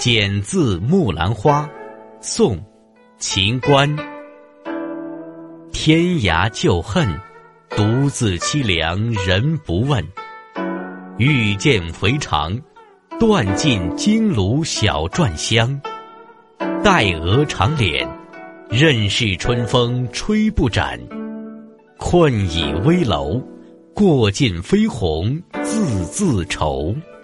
剪字木兰花，宋·秦观。天涯旧恨，独自凄凉人不问。欲见回肠，断尽金炉小篆香。黛额长脸，任是春风吹不展。困倚危楼，过尽飞鸿字字愁。